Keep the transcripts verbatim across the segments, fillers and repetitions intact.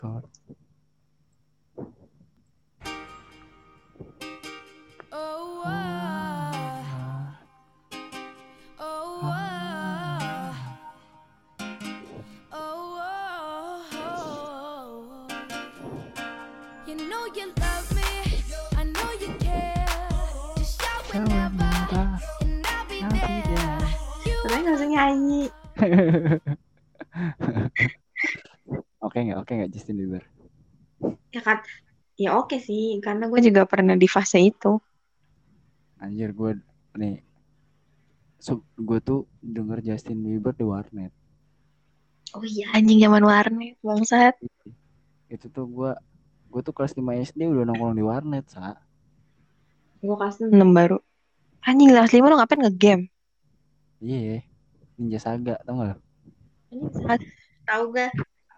Tuh. Oh, ah. Oh, ah. Oh, oh. You know you love me, I know you care. Just shout whenever, and I'll be there. You Tapi nggak usah nyanyi. Oke nggak? Oke nggak Justin Bieber? Ya kan, ya oke sih, karena gue juga pernah di fase itu. Anjir gue nih, so, gue tuh denger Justin Bieber di warnet. Oh iya, anjing zaman warnet, bangsat. Itu tuh gue, gue tuh kelas lima S D udah nongkrong di warnet, sa. Gue kelas enam baru. Anjing kelas lima lo ngapain nge-game? Iya, Ninja Saga, tau gak? Anjing saat tahu gak?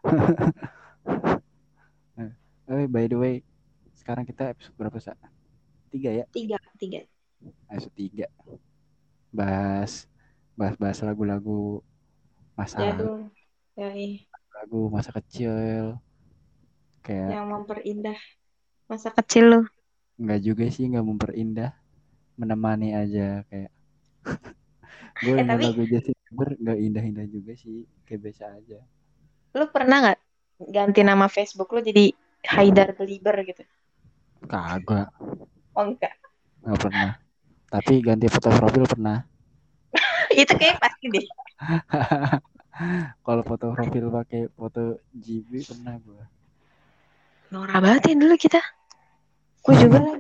Eh, by the way, sekarang kita episode berapa, sa? Tiga ya? Tiga, tiga. Episode tiga. Bahas, bahas-bahas lagu-lagu masa lalu, Jadul. Yoi. lagu masa kecil. Kayak Yang memperindah masa kecil lo. nggak juga sih, nggak memperindah, menemani aja kayak. Gue Eh denger tapi lagu Justin Bieber nggak indah-indah juga sih, kayak biasa aja. lo pernah nggak ganti nama Facebook lo jadi Haidar Belieber gitu? Kagak, Oh enggak. nggak pernah. Tapi ganti foto profil pernah. Itu kayak pasti deh. Kalau foto profil pakai foto G B pernah gue. Norak banget ya dulu kita. Gue juga lah.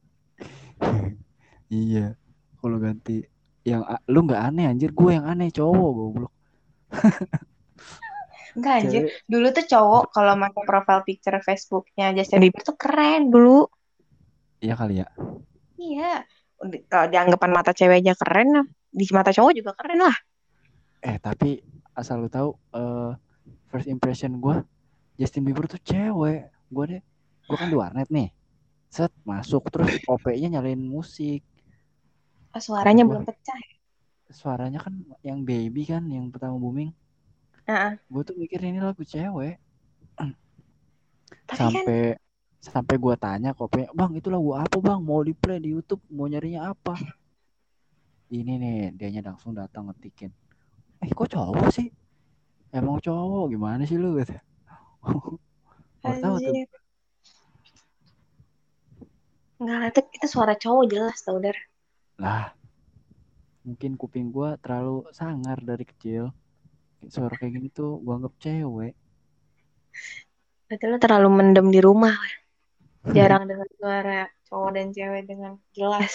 Iya. Kalau ganti yang lu nggak aneh anjir, gue yang aneh cowok goblok. Enggak anjir. Cewek. Dulu tuh cowok kalau pakai profile picture Facebooknya Justin Bieber tuh keren dulu. Iya kali ya. Iya. Di- Kalau dianggapan mata cewek aja keren, di mata cowok juga keren lah. Eh tapi asal lu tahu, uh, first impression gue Justin Bieber tuh cewek. Gue deh, gue kan di warnet nih. Set masuk terus O P-nya nyalain musik. Oh, Kata suaranya gue, belum pecah. suaranya kan yang baby kan, yang pertama booming. Heeh. Gue tuh mikir ini lagu cewek. Tapi kan, Sampai sampai gue tanya kok, bang itu lagu apa bang? Mau di play di YouTube, mau nyarinya apa? Ini nih, dianya langsung datang ngetikin. Eh kok cowok sih? Emang cowok gimana sih lu? Gitu. Baru tahu tuh. anjir. Enggak lah, itu, itu suara cowok jelas tau, Dar. Lah, mungkin kuping gue terlalu sangar dari kecil. Suara kayak gini tuh gue anggap cewek. Berarti lo terlalu mendem di rumah. Jarang dengar suara cowok dan cewek dengan jelas.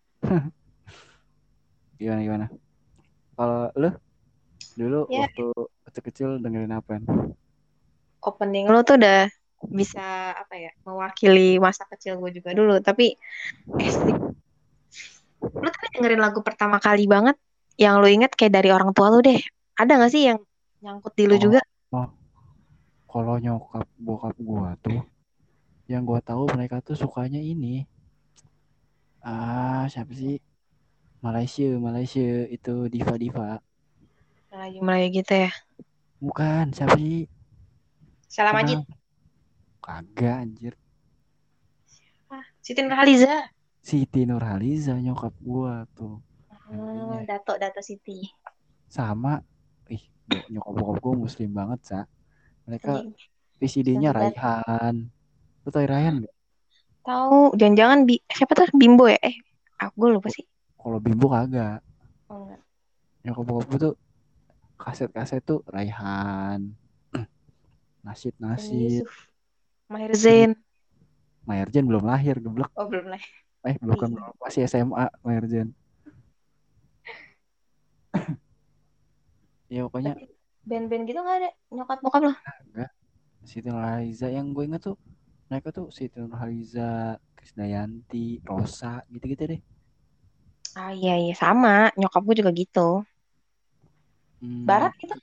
Gimana gimana? Kalau lu dulu Ya, waktu kecil-kecil dengerin apa? opening lo tuh udah bisa apa ya, mewakili masa kecil gue juga dulu. Tapi S D, lo tadi dengerin lagu pertama kali banget yang lo inget kayak dari orang tua lo deh. Ada gak sih yang nyangkut di lo Oh, juga? oh. Kalau nyokap bokap gua tuh, yang gua tahu mereka tuh sukanya ini. Ah, siapa sih? Malaysia, Malaysia itu diva-diva. Melayu-melayu gitu ya. Bukan, siapa sih? Salam Majid. Kenal? Kagak anjir. Ah, Siti Nurhaliza. Siti Nurhaliza nyokap gua tuh. Oh, Dengerinnya. Dato, Dato Siti. Sama, ih, bo- nyokap bokap gua muslim banget, Sa. Mereka Anjing, V C D-nya sejati. Raihan. Lu tau Raihan gak? Tahu, jangan-jangan bi siapa tuh Bimbo ya? Eh, aku lupa sih. Kalau Bimbo kagak. Oh, enggak. Nyokap bokap gua tuh kaset-kaset tuh Raihan. Benny Nasid-nasid. Yusuf, Maher Zain. Maherjen belum lahir, geblek. Oh, belum lah. Eh, bukan, Iya. masih S M A Maherjen. Ya pokoknya Tapi band-band gitu nggak ada nyokap bokap lo? enggak. Siti Nurhaliza yang gue inget tuh, mereka tuh Siti Nurhaliza, Krisdayanti, Rosa, gitu-gitu deh. Ah iya iya sama, nyokap gue juga gitu. Hmm, Barat gitu.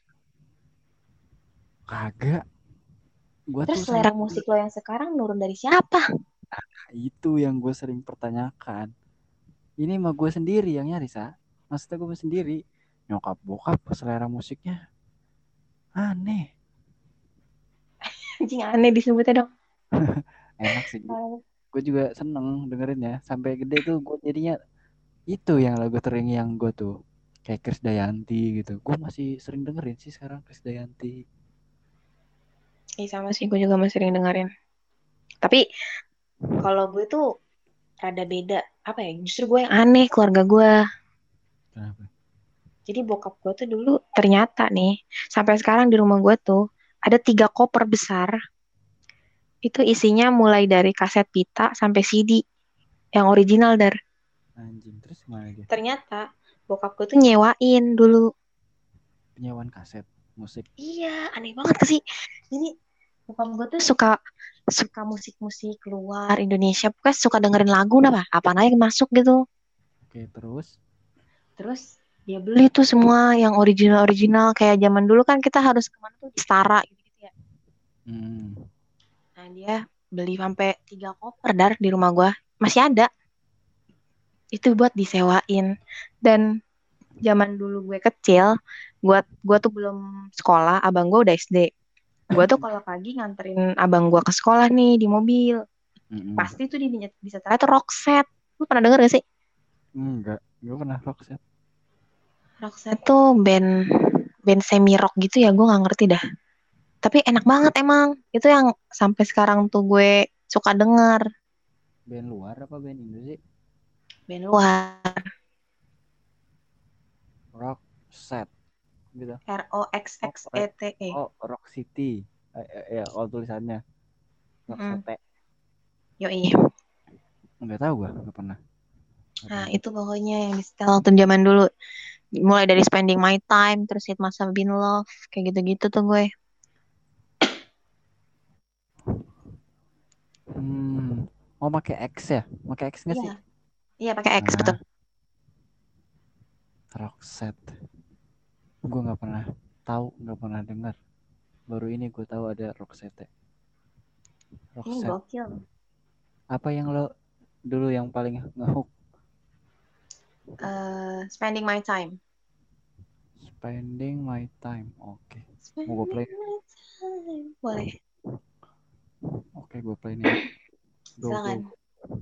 kagak. Gue Terus tuh selera sama, musik lo yang sekarang nurun dari siapa? itu yang gue sering pertanyakan. Ini mah gue sendiri yang nyari, Sa. Maksudnya gue sendiri. Nyokap bokap selera musiknya aneh. Anjing aneh disebutnya dong. Enak sih. Gue juga seneng dengerinnya. Sampai gede tuh gue jadinya itu yang lagu tering yang gue tuh kayak Krisdayanti gitu. Gue masih sering dengerin sih sekarang Krisdayanti. Iya sama sih, gue juga masih sering dengerin. Tapi kalau gue tuh rada beda. Apa ya? Justru gue yang aneh keluarga gue. Kenapa? Jadi bokap gue tuh dulu ternyata nih, sampai sekarang di rumah gue tuh ada tiga koper besar. Itu isinya mulai dari kaset pita sampai C D yang original dar. Anjing, terus gimana dia? Ternyata bokap gue tuh nyewain dulu. Penyewaan kaset musik. Iya, aneh banget sih. Jadi bokap gue tuh suka suka musik-musik luar Indonesia, pokoknya suka dengerin lagu apa apa aja masuk gitu. Oke, terus Terus dia beli tuh semua yang original-original kayak zaman dulu kan kita harus kemana tuh di Stara gitu, ya. hmm, Nah dia beli sampai tiga koper dar di rumah gua masih ada. Itu buat disewain. Dan zaman dulu gue kecil, gua gua tuh belum sekolah, abang gua udah S D. Gua tuh kalau pagi nganterin abang gua ke sekolah nih di mobil, mm-mm. pasti tuh di di setelnya tuh Roxette. Lu pernah denger gak sih? Enggak, gue pernah Roxette. Roxette tuh band band semi rock gitu ya, gue nggak ngerti dah. Tapi enak banget emang. Itu yang sampai sekarang tuh gue suka denger. Band luar apa band Indo sih? Band luar. Roxette gitu. R O X Oh, X E Re- T E. oh Rock City. Eh, eh, ya, oh tulisannya Mm. Roxette. Yoi. Enggak tahu gue, enggak pernah. Enggak Nah pernah. itu pokoknya yang di setel waktu zaman dulu. Mulai dari Spending My Time, terus Hit Must Have Been Love. Kayak gitu-gitu tuh gue. Hmm, mau pakai X ya? Pakai X nggak Iya. sih? Iya pakai X betul. Nah, Roxette. Gue nggak pernah tahu, nggak pernah dengar. Baru ini gue tahu ada Roxette. Ini Roxette. gokil. Apa yang lo dulu yang paling ngehook? Uh, Spending My Time. Spending My Time. Oke. Mau gue Spending play? My Time. Boleh. Oke, gue play nih. Go, go. Silakan.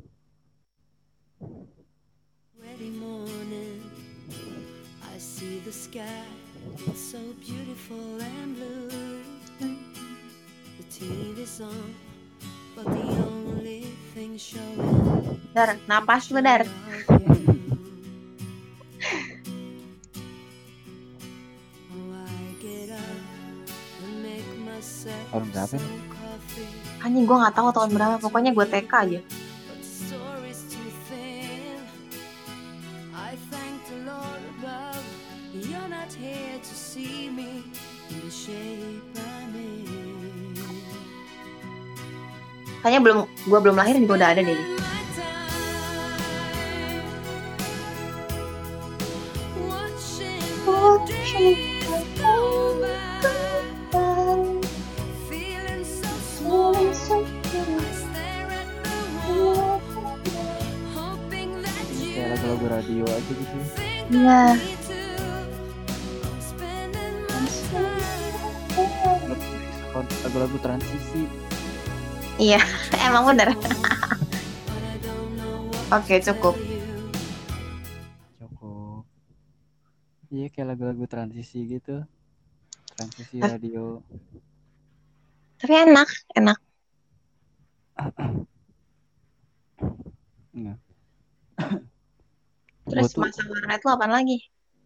Ready morning, I see the sky, it's so beautiful and blue. The T V's on, but the only thing showing Dar, napas lu dar. of you. Oh, I get up and make myself Tahun berapa some nih? coffee, Anjing gue gak tahu tahun berapa. Pokoknya gue T K aja. but the story's too thin. I thank the Lord above, you're not here to see me in the shape I'm in. Kayaknya belum, gue belum lahir juga udah ada deh. Spending my time watching the days go by, feeling so small. I stare at the wall, hoping that Ini you kayak lagu-lagu radio aja gitu. think Iya. of me too. Spending my time. Lagu-lagu transisi. Iya, emang bener. But I don't know what Oke, to cukup. tell you. Cukup. Iya kayak lagu-lagu transisi gitu. Transisi Eh. radio. Tapi enak, enak. Enggak. Terus Gua tuh masa warnet lu apaan lagi?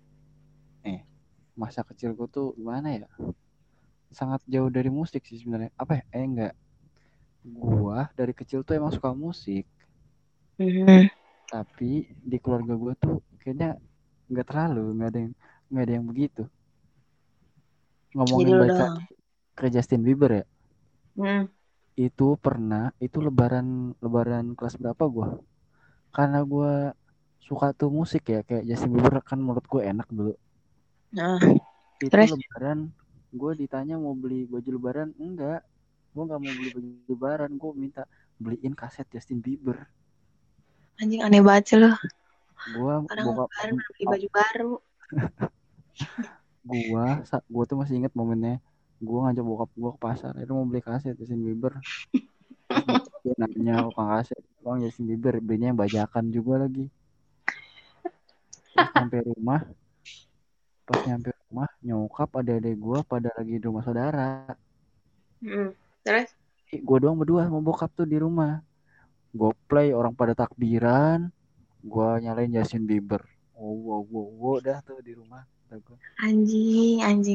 masa kecil gue tuh gimana ya? Sangat jauh dari musik sih sebenarnya. Apa ya? Eh enggak. Gua dari kecil tuh emang suka musik. Hmm. Tapi di keluarga gue tuh kayaknya nggak terlalu, nggak ada yang nggak ada yang begitu. Jadi Ngomongin lu balik doang. lagi ke Justin Bieber ya. Hmm. Itu pernah, itu lebaran lebaran kelas berapa gue? Karena gue suka tuh musik ya, kayak Justin Bieber kan menurut gue enak dulu. Nah, Itu terus lebaran gue ditanya mau beli baju lebaran, enggak. Gue nggak mau beli baju lebaran, gue minta beliin kaset Justin Bieber. anjing aneh banget sih lu. Gue Orang bokap lebaran beli baju baru. gua sa- gua tuh masih inget momennya. gue ngajak bokap gue ke pasar, itu mau beli kaset Justin Bieber. Terus bokap gue nanya tukang kaset, bang Justin Bieber belinya yang bajakan juga lagi. Terus nyampe rumah, pas nyampe rumah nyokap adik-adik gue pada lagi di rumah saudara. Hmm. Terus? Gue doang berdua sama bokap tuh di rumah. Gue play orang pada takbiran, gue nyalain Justin Bieber. Oh wow wow wow dah tuh di rumah. Anjing, anjing.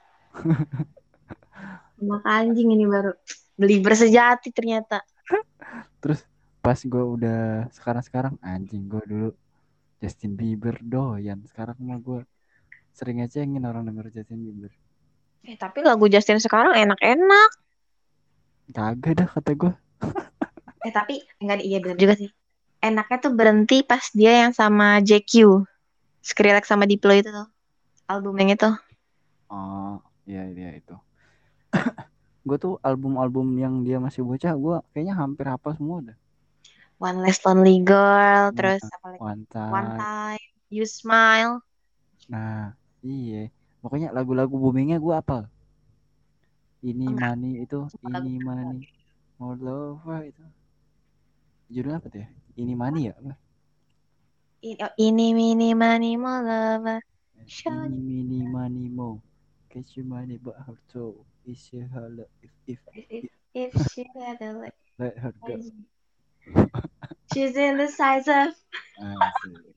Anak anjing ini baru beli bersejati ternyata. Terus pas gue udah sekarang-sekarang anjing gue dulu Justin Bieber doyan. Sekarang mah gue sering ngecengin orang denger Justin Bieber. Eh tapi lagu Justin sekarang enak-enak. Kagak dah kata gue. Eh tapi enggak, iya benar juga sih. Enaknya tuh berhenti pas dia yang sama J Q. Skrillex sama Diplo itu tuh. Album yang itu. Oh iya iya itu. Gue tuh album-album yang dia masih bocah gue kayaknya hampir hafal semua udah. One Less Lonely Girl, Nah, terus apa lagi? One One Time. Time, You Smile. Nah iya. Pokoknya lagu-lagu boomingnya gue hafal. Ini Enggak, money itu, suka lagu ini terkenal. money, more love itu. Judulnya apa tuh ya? Ini money ya? Apa? Ini, oh, ini mini money more lover. Show Ini mini money mo. Catch your money but her toe. Is your hollow if if if, if if she had a leg. let her go. She's in the size of. Asik.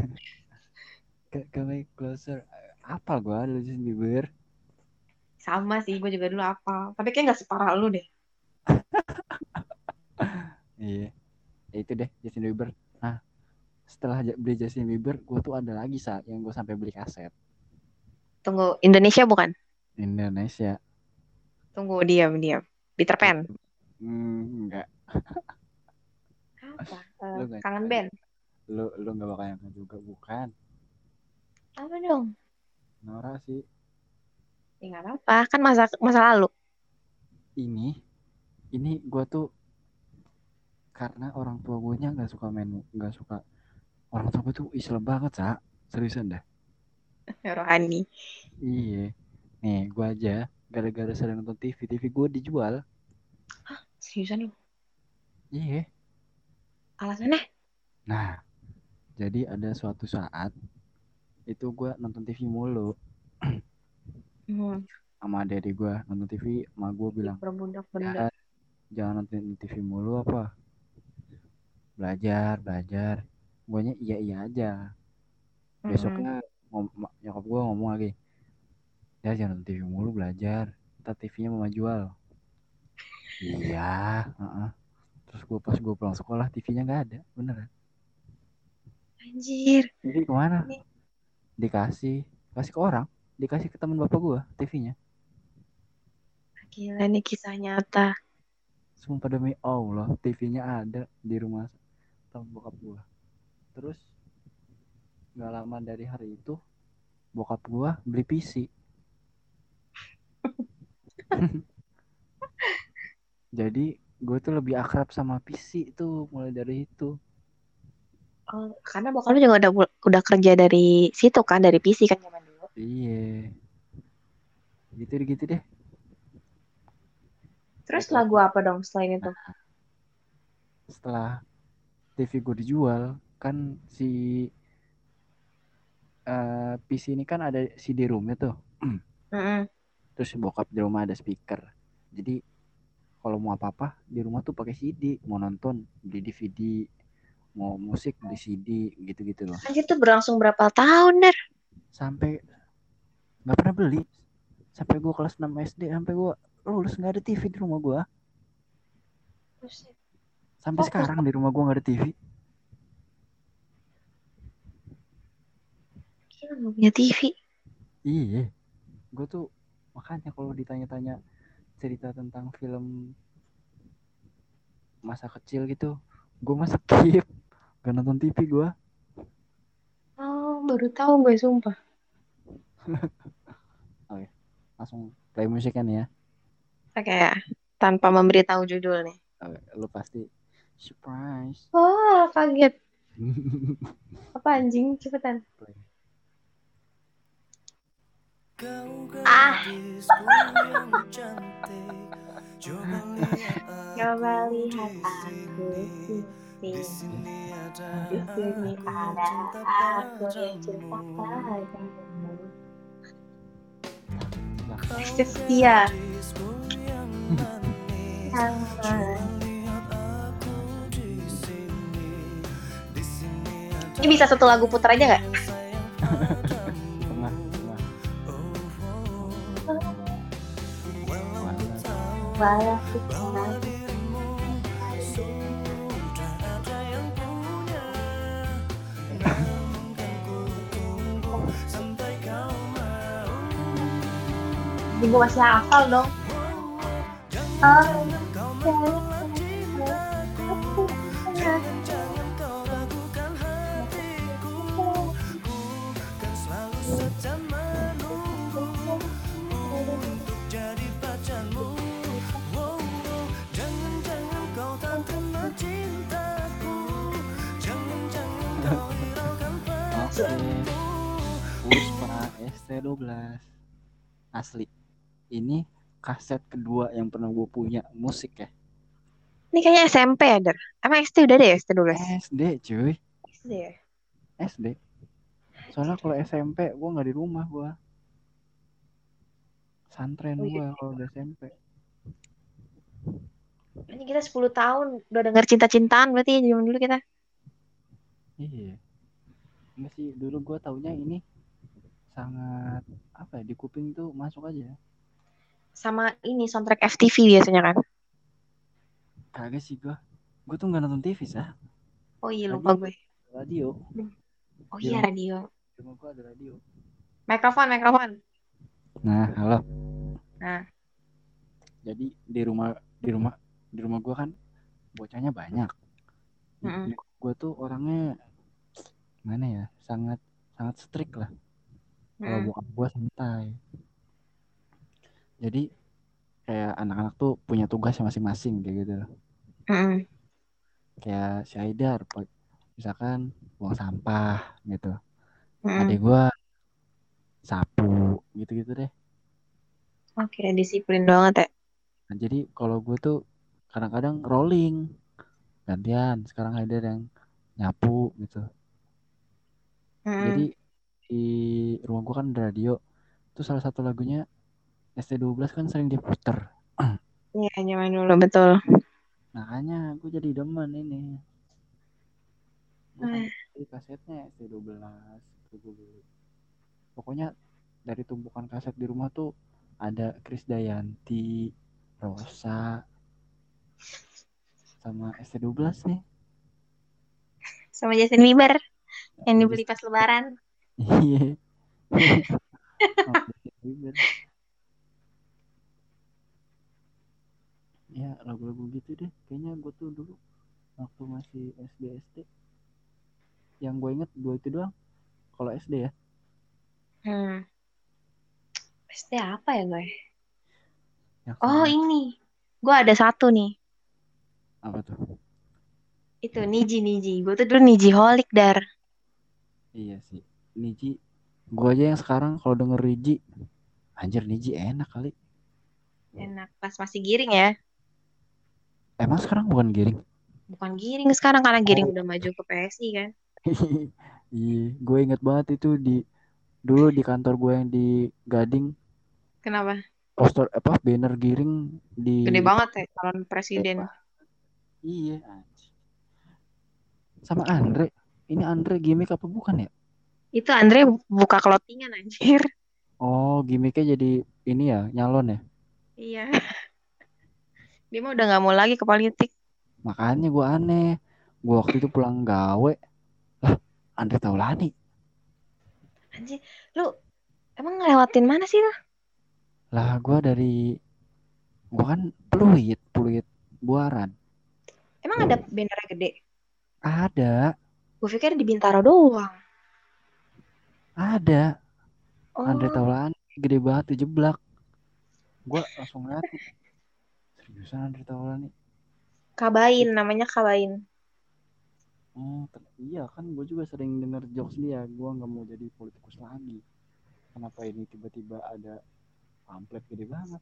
Come closer. Apal gua dulu Justin Bieber. Sama sih, gue juga dulu apa. Tapi kayak gak separah lu deh. Iya. Ya itu deh Justin Bieber. Nah, setelah beli Justin Bieber, gua tuh ada lagi saat yang gua sampai beli kaset. Tunggu, Indonesia bukan? Indonesia. Tunggu, diam, diam. Peter Pan. Hmm, enggak. Apa? Eh, Lu enggak kangen nyangka band. juga. Lu lu enggak bakal nyangka juga bukan. Apa dong? Nora sih. Ya nggak apa-apa, kan masa masa lalu. Ini ini gua tuh karena orang tua gue nya nggak suka main nggak suka orang tua gue tuh Islam banget sa seriusan dah. Rohani. Iya nih gue aja gara-gara sering nonton T V T V gue dijual. Seriusan lu? Iya. Alasannya? Nah jadi ada suatu saat itu gue nonton T V mulu Hmm. sama adik gue nonton T V sama gue bilang Berbudak ya benda. jangan nonton T V mulu apa belajar belajar gue nya iya iya aja Mm-mm. besoknya ngom- nyokap gue ngomong lagi ya jangan nonton T V mulu belajar ntar T V-nya mau jual. Iya, heeh. Terus gue pas gue pulang sekolah T V-nya nggak ada, beneran. Anjir. T V kemana? Ini Dikasih, kasih ke orang, dikasih ke teman bapak gue T V-nya. gila nih kisah nyata. Sumpah demi Allah, T V-nya ada di rumah teman bokap gue. Terus nggak lama dari hari itu, bokap gue beli P C. Jadi gue tuh lebih akrab sama P C itu mulai dari itu. Oh, karena bokap lu juga udah udah kerja dari situ kan, dari P C kan zaman dulu. Iya, gitu deh gitu deh. Terus lagu Laki-laki. apa dong selain itu? Nah, setelah T V gue dijual, kan si uh, P C ini kan ada C D roomnya tuh. Mm-mm. Terus bokap di rumah ada speaker. Jadi kalau mau apa-apa di rumah tuh pakai C D. Mau nonton beli D V D, mau musik beli C D gitu-gitu loh. Anjir tuh berlangsung berapa tahun, Der? Sampai nggak pernah beli. Sampai gue kelas enam S D sampai gue lulus nggak ada T V di rumah gue. Sampai Fokus. sekarang di rumah gue nggak ada T V. Gila, nggak punya T V. Iya, gue tuh makanya kalau ditanya-tanya cerita tentang film masa kecil gitu, gue mah skip, gak nonton T V gue. Oh, baru tahu gue sumpah. Oke, langsung play musiknya nih ya. Oke ya, tanpa memberitahu judul nih. Oke, lu pasti surprise. Wah, kaget. Apa anjing? Cepetan. Play. Ah, coba lihat aku sini. Di sini ada aku yang cinta padamu. Setia. Ini bisa satu lagu putar aja nggak? Tengah, tengah. Walau kita Jadi gue masih hafal dong. Oh, Oke. Puspa S T dua belas. Asli. Ini kaset kedua yang pernah gue punya musik ya. ini kayaknya S M P ya, Der? Emang S T udah deh, S T dua belas? S D cuy. S D ya? S D. Soalnya kalau S M P gue nggak di rumah gue. Santren Oh, iya. gue kalau udah S M P. Ini kita sepuluh tahun udah denger cinta-cintaan berarti ya zaman dulu kita. Iya. Enggak sih, dulu gue taunya ini sangat apa ya, di kuping tuh masuk aja. Sama ini soundtrack F T V biasanya kan. Kagak sih gue. Gue tuh nggak nonton T V sah. Oh iya Radio, lupa gue. radio. Oh Di iya rumah, radio. di rumah gue ada radio. Mikrofon, mikrofon. Nah, halo. Nah, Jadi di rumah di rumah di rumah gue kan bocahnya banyak. mm-mm. Gue tuh orangnya mana ya, sangat sangat strict lah. Kalau Mm-mm. bokap gue santai. Jadi kayak anak-anak tuh punya tugasnya masing-masing kayak gitu loh. Mm-mm. Kayak si Haidar, pa- misalkan buang sampah gitu. Mm-mm. Adik gue sapu gitu-gitu deh. Oke, disiplin banget ya. Nah, jadi kalau gue tuh kadang-kadang rolling gantian. Sekarang Haidar yang nyapu gitu. Jadi Mm-mm. di rumah gue kan ada radio. Itu salah satu lagunya S T dua belas kan sering diputer. Iya, zaman dulu betul. Makanya gue jadi demen ini. Gue Eh, sampai beli kasetnya S T dua belas. Gue beli. Pokoknya dari tumpukan kaset di rumah tuh ada Krisdayanti, Rosa, sama S T dua belas nih. Sama Justin Bieber yang Sama dibeli Justin pas lebaran. Iya. Sama Justin Bieber. Ya lagu-lagu gitu deh. Kayaknya gue tuh dulu waktu masih S D S D. Yang gue inget dua itu doang. Kalau S D ya. Hmm. S D apa ya gue? Yang Oh sangat ini, gue ada satu nih. apa tuh? Itu Niji Niji. Gue tuh dulu Niji holik dar. Iya sih. Niji. Gue aja yang sekarang kalau denger Niji. Anjir Niji enak kali. Enak pas masih giring ya. Emang sekarang bukan giring? Bukan giring sekarang karena giring Oh. udah maju ke P S I kan. Iya, gue inget banget itu di dulu di kantor gue yang di Gading, Kenapa? poster apa banner giring di Gede banget ya calon presiden. iya anjing. Sama Andre. Ini Andre gimmick apa bukan ya? Itu Andre buka clothingan anjir. Oh, gimmicknya jadi ini ya, nyalon ya. Iya. Dia mah udah nggak mau lagi ke politik. Makanya gue aneh. Gue waktu itu pulang gawe, lah Andre Taulani. Anjir, lu emang ngelewatin mana sih lu? Lah gue dari gue kan Pluit, Pluit Buaran. Emang ada banner gede? Ada, Gue pikir di Bintaro doang. ada. Andre Oh, Taulani gede banget dijeblak. Gue langsung ngeliatin. Seriusan Andre Taulani. Kabain, namanya Kabain. Hmm, ter- iya kan gue juga sering denger jokes dia. Gue nggak mau jadi politikus lagi. kenapa ini tiba-tiba ada pamflet gede banget.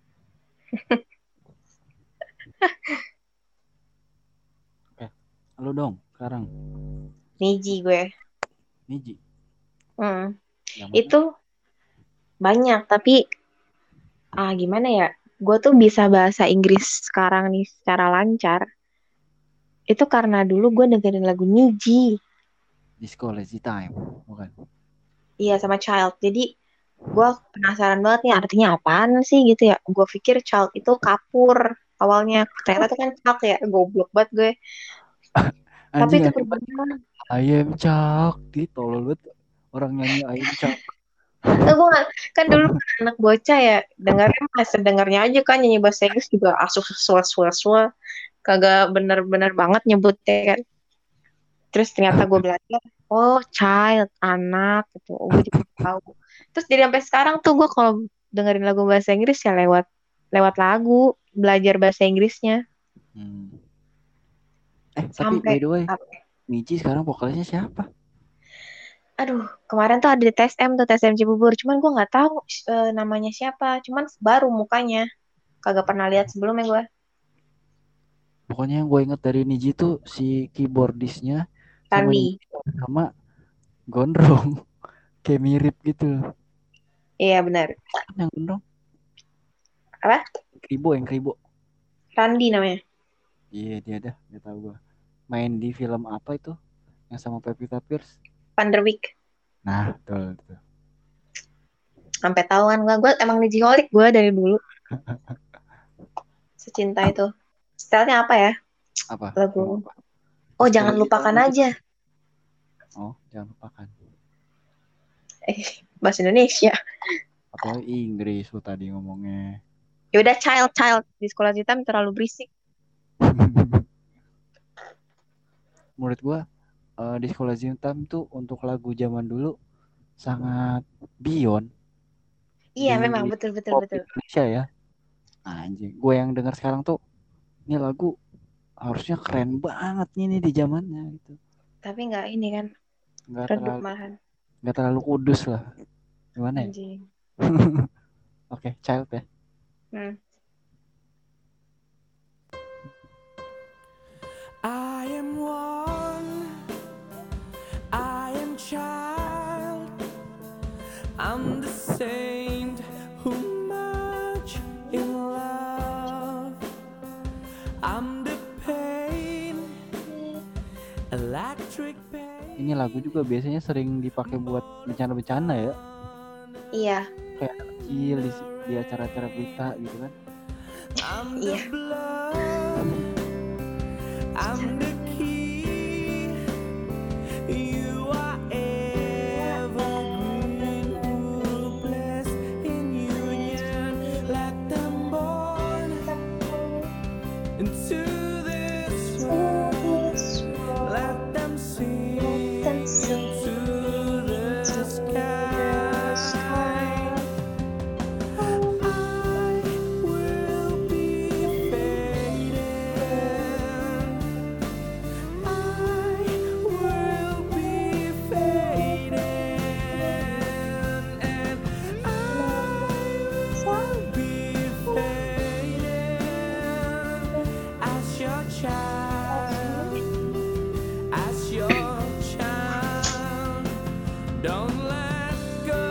Oke, lu dong sekarang. Niji gue. Niji. Hmm. Yang mana? Itu banyak, tapi ah gimana ya? Gue tuh bisa bahasa Inggris sekarang nih secara lancar. Itu karena dulu gue dengerin lagu Niji. Disco Lazy Time, bukan? Iya, sama Child. Jadi gue penasaran banget nih artinya apaan sih gitu ya. Gue pikir Child itu kapur awalnya. Ternyata tuh kan Child ya. Goblok banget gue. Tapi Anjing itu anjing banget. berbunga. I am Chuck. Di tolol banget orang nyanyi I am Chuck. Nah, gue gak, kan dulu kan anak bocah ya. Dengarnya mah sedengarnya aja kan nyanyi bahasa Inggris juga asuh suah suah suah. Kagak bener-bener banget nyebutnya kan. Terus ternyata gue belajar, oh child, anak gitu. Oh, gue jadi tahu. Terus jadi sampai sekarang tuh gue kalau dengerin lagu bahasa Inggris ya lewat lewat lagu, belajar bahasa Inggrisnya. Hmm. Eh, tapi by Sampai, the way, ap- Niji sekarang vokalisnya siapa? aduh, kemarin tuh ada di T S M tuh, T S M Cibubur. Cuman gue nggak tahu eh, namanya siapa. Cuman baru mukanya. Kagak pernah lihat sebelumnya gue. Pokoknya yang gue inget dari Niji tuh si keyboardisnya sama Randi. Niji sama gondrong. Kayak mirip gitu. Iya benar. Yang gondrong? Apa? Kribo, yang Kribo. Randi namanya. Iya dia dah, gak tau gue. Main di film apa itu? Yang sama Pevita Pierce? Van der Wijk. Nah, betul, betul. Sampai tahu kan gue. Gue emang Nijiholic gue dari dulu. Secinta itu. Stylenya apa ya? Apa? Lagu. Film apa? Oh, Disco jangan Lazy lupakan Time aja. aja. Oh, jangan lupakan. Eh, bahasa Indonesia. Apalagi Inggris lu tadi ngomongnya. Yaudah, child, child. Di sekolah hitam terlalu berisik. Menurut gua uh, di sekolah Zintam tuh untuk lagu zaman dulu sangat beyond Iya, di memang. Betul, betul, pop betul. Indonesia ya. Anjing, gue yang dengar sekarang tuh ini lagu harusnya keren banget nih, nih di zamannya gitu. Tapi nggak ini kan. Nggak Redup terlalu malahan. nggak terlalu kudus lah. Gimana ya? Anjing. Oke, okay, child ya. Hmm. I am one, I am child, I'm the saint who much in love, I'm the pain, electric pain. Ini lagu juga biasanya sering dipakai buat bencana-bencana ya. Iya. Kayak anak kecil di, di acara-acara berita gitu kan. Iya. I'm the key, you are evergreen, hopeless in union, let them born into this world, let them sing into the sky. I will be fading, I will be fading, and I will be fading as your child, as your child. Don't let go,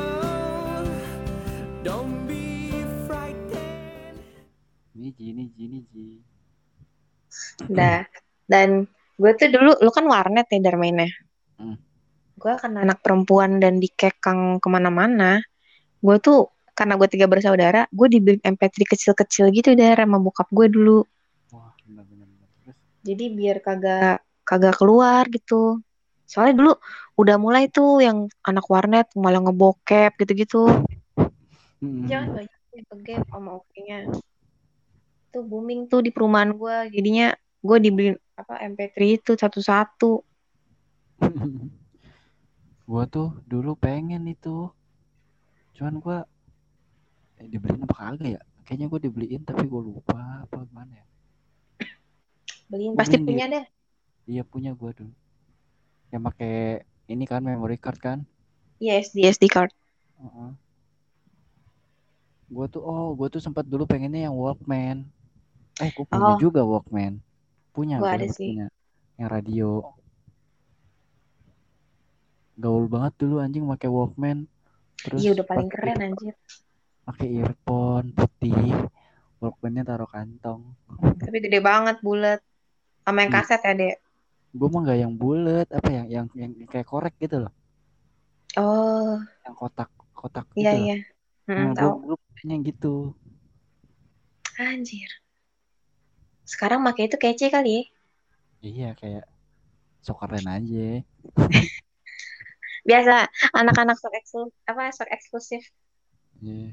don't be frightened. Niji, Niji, Niji. Udah. Dan gue tuh dulu, lu kan warnet ya dari mainnya. Hmm. Gue kan anak perempuan dan dikekang kemana-mana. Gue tuh, karena gue tiga bersaudara, gue dibeli M P tiga kecil-kecil gitu deh sama bokap gue dulu. Wah, benar-benar. Terus Jadi biar kagak kagak keluar gitu. Soalnya dulu udah mulai tuh yang anak warnet malah ngebokep gitu-gitu. Jangan banyak yang ke-gap sama oke-nya. Tuh booming tuh di perumahan gue. Jadinya gue dibeliin apa M P tiga itu satu-satu. Gua tuh dulu pengen itu. Cuman gua eh, dibeliin apa kagak ya? Kayaknya gua dibeliin tapi gua lupa apa gimana ya. Beliin Gua pasti beliin punya dia. deh. Iya punya gua dulu. Yang pakai ini kan memory card kan. Iya S D S D card. Uh-uh. Gue tuh oh gue tuh sempat dulu pengennya yang Walkman. Eh gue punya Oh, juga Walkman. Punya gue gue ada sempat sih. punya yang radio. Gaul banget dulu anjing pakai Walkman. Terus Iya udah paling pakai keren anjir. pakai earphone putih. Walkmannya taruh kantong. Tapi gede banget, bulat. Sama yang Iya, kaset ya, Dek. gue mah nggak yang bulat, apa yang yang yang kayak korek gitu loh, Oh, yang kotak kotak iya gitu loh. iya. Hmm, Nah, gue tahu. gue punya yang gitu. Anjir. Sekarang pakai itu kece kali ya. Iya kayak sok keren aja. Biasa anak-anak sok eksklusif, apa sok eksklusif. Iya.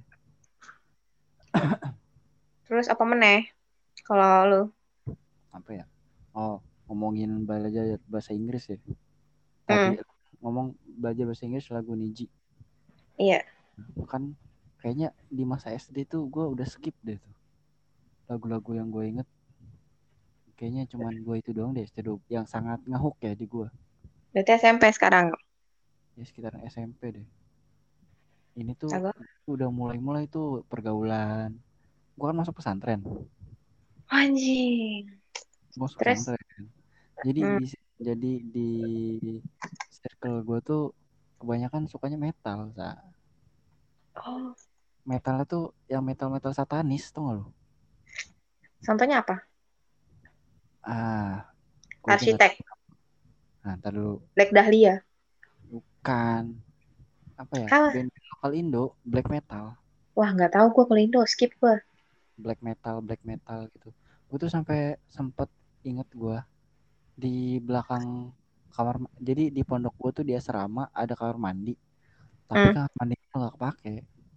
Terus apa meneh? Kalau lu? Apa ya? Oh, ngomongin belajar bahasa Inggris ya. Tadi Hmm, ngomong belajar bahasa Inggris lagu Niji. iya. Kan kayaknya di masa S D tuh gue udah skip deh tuh. Lagu-lagu yang gue inget kayaknya cuman gue itu doang deh S D yang sangat ngehook ya di gue. Berarti S M P sekarang. Ya sekitar S M P deh. Ini tuh Lagu. udah mulai-mulai tuh pergaulan. Gue kan masuk pesantren. Anjing. Gue masuk Terus? pesantren. Jadi Hmm. di jadi di circle gue tuh kebanyakan sukanya metal. Sa. Oh, Metalnya tuh yang metal-metal satanis tuh gak lo? contohnya apa? Ah, gue aja nggak Arsitek, tahu. Nah, ntar dulu. Black Dahlia. Bukan apa ya? Ah, Band lokal Indo, black metal, wah nggak tahu gue kalau Indo, skip gue. black metal, black metal gitu. Gue tuh sampai sempet inget gue di belakang kamar. Jadi di pondok gue tuh di asrama ada kamar mandi, tapi Hmm. kamar mandi itu nggak kepake.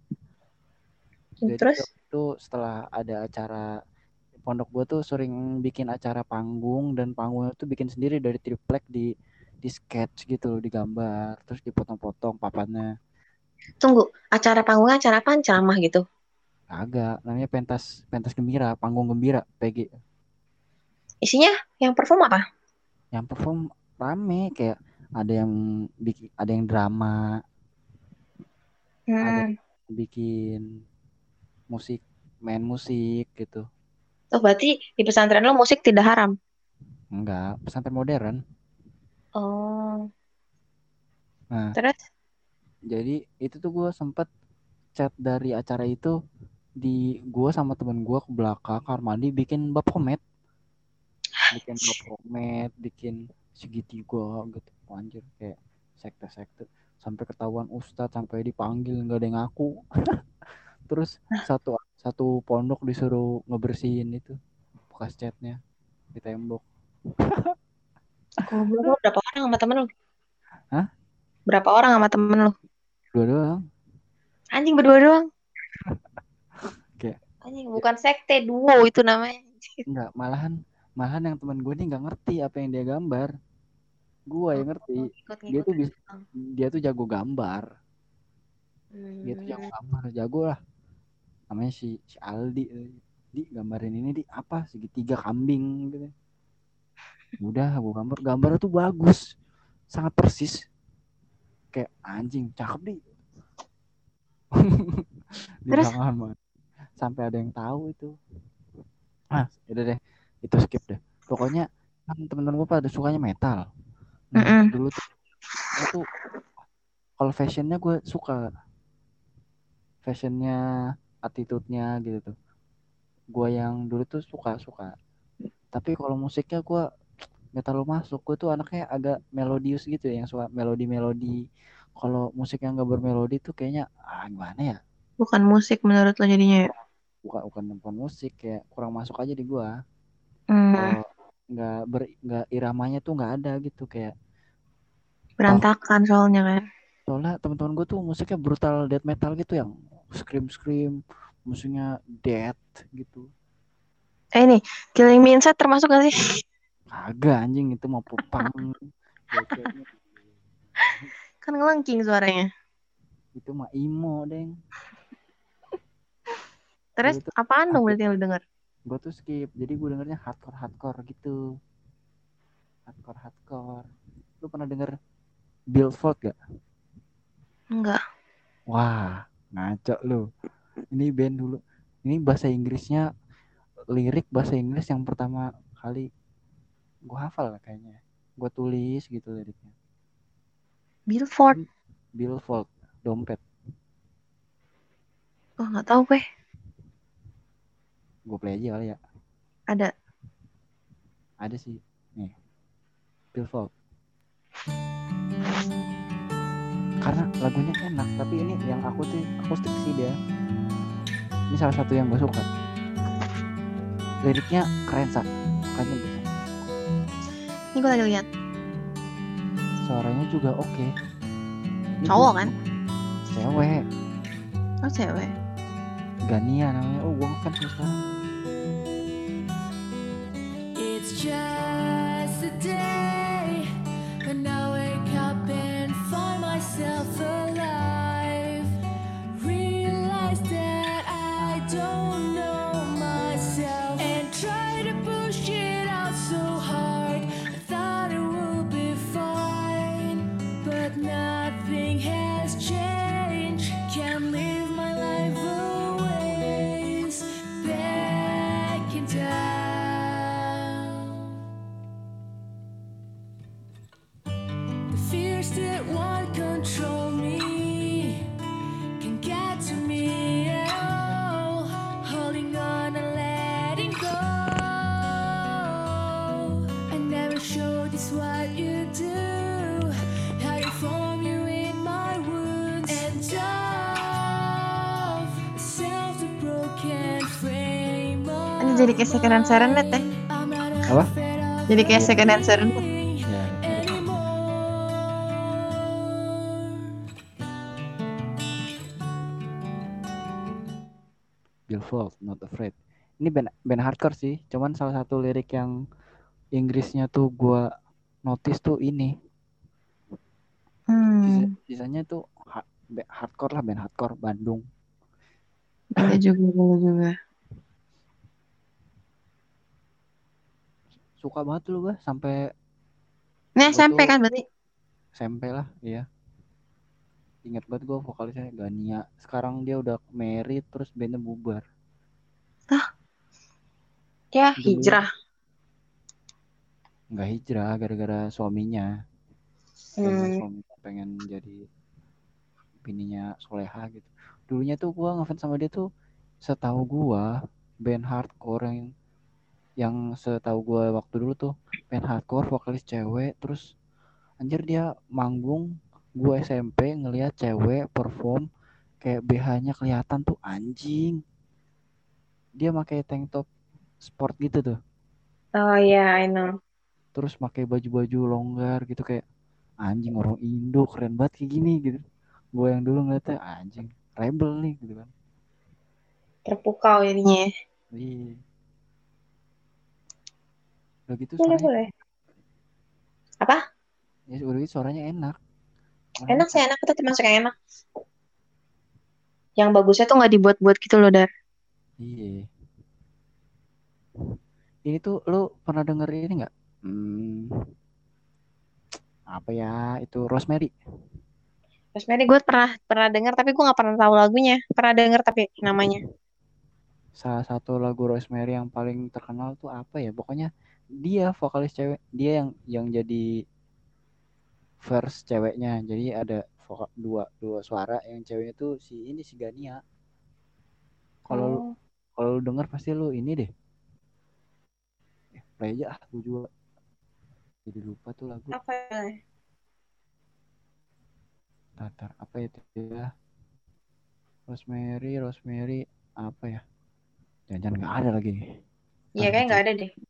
Jadi Terus? waktu itu setelah ada acara pondok gue tuh sering bikin acara panggung dan panggungnya tuh bikin sendiri dari triplek di di sketch gitu loh, digambar terus dipotong-potong papannya. Tunggu, acara panggungnya acara apaan? Ceramah gitu. Agak namanya pentas pentas gembira, panggung gembira P G. Isinya yang perform apa? Yang perform rame kayak ada yang bikin, ada yang drama, ada Hmm. yang bikin musik, main musik gitu. Oh, berarti di pesantren lo musik tidak haram. Enggak, pesantren modern. Oh, Nah, terus? jadi itu tuh gue sempet chat dari acara itu, di gue sama temen gue ke belakang kamar mandi bikin bab komet, bikin bab komet, bikin segitiga gitu. Anjir kayak sekte-sekte, sampai ketahuan ustadz, sampai dipanggil nggak ada yang ngaku. Terus satu satu pondok disuruh ngebersihin itu bekas catnya di tembok. Goblok lo berapa orang sama temen lo? Hah? Berapa orang sama temen lo? Dua doang. Anjing berdua doang. Kayak Anjing ya, bukan sekte, duo itu namanya. enggak, malahan malahan yang teman gue ini nggak ngerti apa yang dia gambar. Gue Oh, yang ngerti. Dia tuh ngikut-ngikutan bisa, doang. dia tuh jago gambar. Dia tuh jago Hmm. gambar, jago lah. Namanya si si Aldi. Di gambarin ini di apa segitiga kambing gitu. Udah gue gambar, gambar tuh bagus, sangat persis, kayak anjing cakep di di Terus? belakang mah, sampai ada yang tahu itu. Ah udah deh, itu skip deh. Pokoknya kan temen-temen gue pada sukanya metal. Nah Mm-mm. dulu tuh gue tuh kalau fashionnya gue suka, fashionnya, attitude-nya gitu tuh. Gue yang dulu tuh suka suka. Tapi kalau musiknya gue nggak terlalu masuk. Gue tuh anaknya agak melodius gitu ya, yang suka melodi-melodi. Kalau musik yang gak bermelodi tuh kayaknya ah gimana ya? Bukan musik menurut lo jadinya ya? Bukan bukan bukan musik, kayak kurang masuk aja di gue. Hmm, Kalau nggak ber nggak iramanya tuh nggak ada gitu, kayak toh berantakan soalnya kan. soalnya teman-teman gue tuh musiknya brutal death metal gitu, yang scream scream, musiknya death gitu. Eh ini, Killing Me Inside termasuk gak sih? Kagak anjing, itu mau pupang cewek-ceweknya. Kan ngelengking suaranya. Itu mah emo deng. Terus Dulu tuh apaan ah, dong berarti yang lo denger? gue tuh skip, jadi gue dengernya hardcore hardcore gitu, hardcore hardcore. Lu pernah denger Billfold gak? Enggak. Wah, ngaco lu. Ini band dulu. Ini bahasa Inggrisnya, lirik bahasa Inggris yang pertama kali gue hafal lah kayaknya. Gue tulis gitu liriknya. Billboard. Billfold, dompet. Oh nggak tahu gue. Gue play aja kali ya. Ada. Ada sih. Nih, Billfold. Karena lagunya enak, tapi ini yang aku tuh akustik sih dia. Ini salah satu yang gue suka. Liriknya keren sak. Makanya bisa. Ini gue lagi lihat. Suaranya juga oke. Okay. Cowok kan? Cewek. Oh cewek. Gania namanya. Oh gue ngefans sama sekarang. It's just a day when I wake up and find myself alive. Realize that I don't know myself and try to push it out so hard. I thought it would be fine, but nothing has changed. Can't live my life always backing down. The fears that won't control me can get to me at all. Holding on and letting go. I never showed this what you do. Hiding from you in my wounds and of self the broken frame of Ini jadi kayak second hand serenade deh. I'm not Apa? afraid of Jadi kayak second hand serenade. Ya, anymore. Billfold, Not Afraid. Ini band, band hardcore sih. Cuman salah satu lirik yang Inggrisnya tuh gue notice tuh ini. Sisa, Hmm. sisanya tuh ha- ba- hardcore lah, band hardcore Bandung. Boleh juga, boleh juga. Suka banget lu gue sampai Ini gue S M P tuh kan berarti? S M P lah, iya. Ingat banget gue vokalisnya Gania. Sekarang dia udah married terus bandnya bubar. Ya Dulu hijrah. nggak hijrah gara-gara suaminya. Pengen Hmm. suaminya pengen jadi bininya soleha gitu. Dulunya tuh gue ngefans sama dia tuh, setahu gue band hardcore yang yang setahu gue waktu dulu tuh band hardcore vokalis cewek, terus anjir dia manggung, gue S M P ngelihat cewek perform kayak B H-nya kelihatan tuh anjing. Dia pakai tank top sport gitu tuh. Oh iya, I know. Terus pakai baju-baju longgar gitu kayak anjing, orang Indo keren banget kayak gini gitu. Gue yang dulu ngeliatnya anjing rebel nih gitu kan. Terpukau jadinya. Iya. Udah gitu Boleh, suaranya boleh. Apa? ya udah gitu suaranya enak. Orang Enak sih, suka. enak. Itu termasuk yang enak. Yang bagusnya tuh nggak dibuat-buat gitu loh, Dar. Iya. Ini tuh lu pernah denger ini nggak? Hmm, apa ya itu Rosemary? Rosemary gue pernah pernah dengar tapi gue nggak pernah tahu lagunya. Pernah dengar tapi namanya. Salah satu lagu Rosemary yang paling terkenal tuh apa ya? Pokoknya dia vokalis cewek, dia yang yang jadi verse ceweknya. Jadi ada vokal dua dua suara, yang ceweknya tuh si ini si Gania. Kalau lu Oh, kalau lu denger pasti lu ini deh. Eh, play aja ah, gue juga jadi lupa tuh lagu. apa ya? Tatar apa itu ya? Rosemary, Rosemary apa ya? Jangan-jangan nggak ada lagi. Iya Ntar kayak gue nggak cek. ada deh.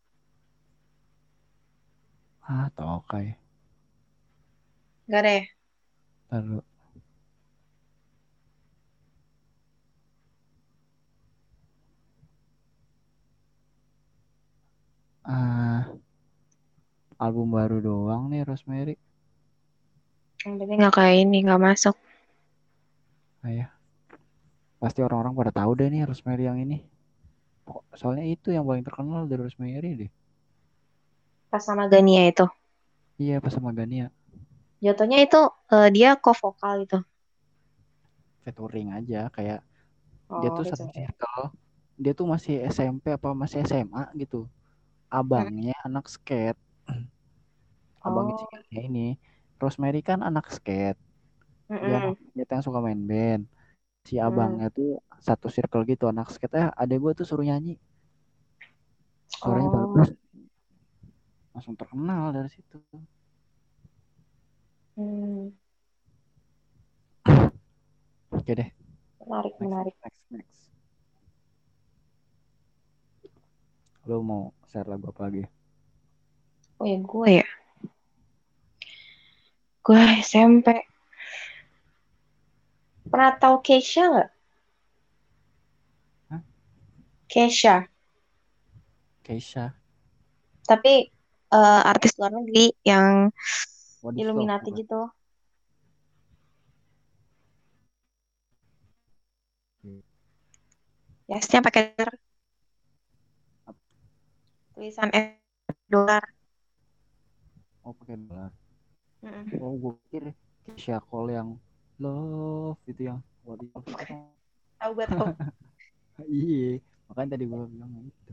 Ah, tokai. Nggak ada ya. Ntar lu. Ah, album baru doang nih Rosemary. Yang penting nggak kayak ini nggak masuk. Ah, ya. Pasti orang-orang pada tahu deh nih Rosemary yang ini. Pokok- Soalnya itu yang paling terkenal dari Rosemary deh. Pas sama Gania itu. Iya, pas sama Gania. Jatuhnya itu eh, dia co-vokal itu. featuring aja kayak dia Oh, tuh gitu satu ya. circle. Dia tuh masih S M P apa masih S M A gitu. Mm. Abangnya anak skate. Abangnya si Oh, Kania ini. Rosemary kan anak skate. Dia anak mm-mm. skate yang suka main band. Si Mm. abangnya tuh satu circle gitu anak skate. Eh adek gue tuh suruh nyanyi. Suaranya Oh, bagus. Langsung terkenal dari situ. hmm. Oke deh. Menarik, Next, menarik. next, next. Lo mau share lagu apa lagi? Oh ya, gue ya. Gue S M P. Pernah tahu Keisha nggak? Hah? Keisha. Keisha. Tapi eh, artis luar negeri yang What is love? Illuminati Bukan? gitu. Yasnya pakai tulisan S dolar. Oh pakai dolar. Mm-mm. Oh gue pikir Keisha Cole yang love itu yang what is love itu kan. Tahu gue tahu. Iya. Makanya tadi gue bilang itu.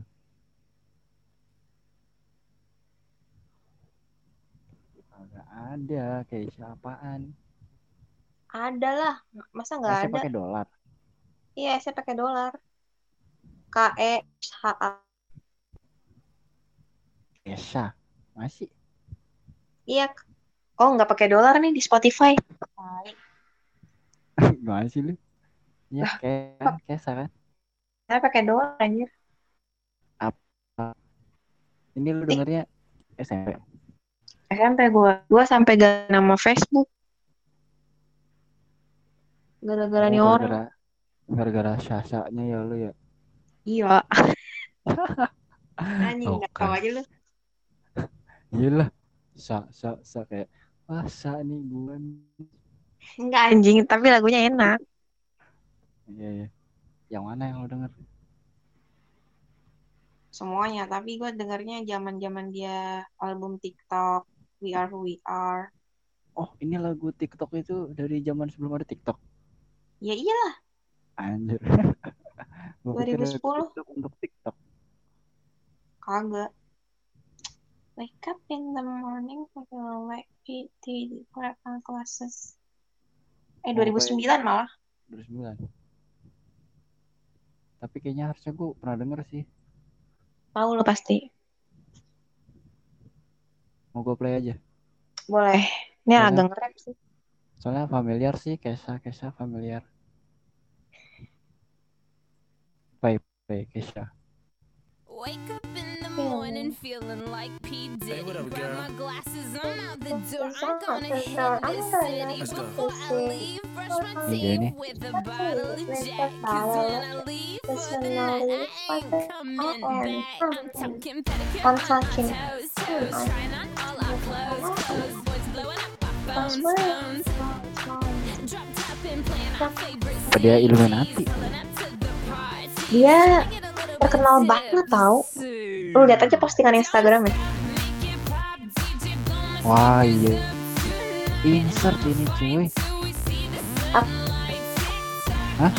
Agak ada Keisha apaan? Ada lah. Masa nggak Esnya ada? pakai dolar. Iya, saya pakai dolar. K E H A. Keisha. Masih. Iya. Oh, nggak pakai dolar nih di Spotify. Tai. Gimana sih lu? Iya Lah, kayak kan Keisha kan. saya pakai dolar anjir. Apa? Ini lu Ih, dengernya S M P. S M P gue. Gue sampai ganti nama Facebook. Gara-gara Oh nih orang. gara-gara gara-gara Sasha-nya ya lu ya. Iya. Anjing, nggak tahu Oke. aja lu. Iya lah. Sa sa sa kayak wah sa nih gue. nih. Enggak anjing, tapi lagunya enak. Iya iya. Yang mana yang lu denger? Semuanya. Tapi gue dengarnya zaman-zaman dia album TikTok. We Are Who We Are. Oh ini lagu TikTok itu dari zaman sebelum ada TikTok. Ya iyalah, Anjir. Gue pikir lagu dua ribu sepuluh. TikTok untuk TikTok. Kagak. Wake up in the morning, feel like P T grab my glasses. Eh, Oh kayak dua ribu sembilan malah. dua ribu sembilan. Tapi kayaknya harusnya gue pernah denger sih. Tahu lo pasti. Mau gue play aja. Boleh. Ini Soalnya agak nge-rap sih. soalnya familiar sih Kesha Kesha familiar. Play play Kesha. Wake up in the morning Feeling. feeling like P. Diddy. Hey, what up, Grab girl? my glasses, I'm out the This door. is I'm out gonna the hit door. I'm this gonna city. Let's go. Before I city. leave, brush my Ini dia teeth nih. with a With bottle of the Jack. Cause bottle when of I leave Cause for the when I night, leave I for ain't the coming I am back. I'm coming. talking pedicure I'm on talking. my toes, Hmm, toes. I'm Trying on all our clothes, clothes. Boys blowing up our That's phones, right. phones. Drop top and playing our favorite Apa dia C Ds. Illuminati? Pulling up to the party. Dia Trying to get a little bit terkenal banget tau. tipsy. Lu lihat aja postingan Instagramnya. Wah iya. Insert ini cuy. Up. Hah?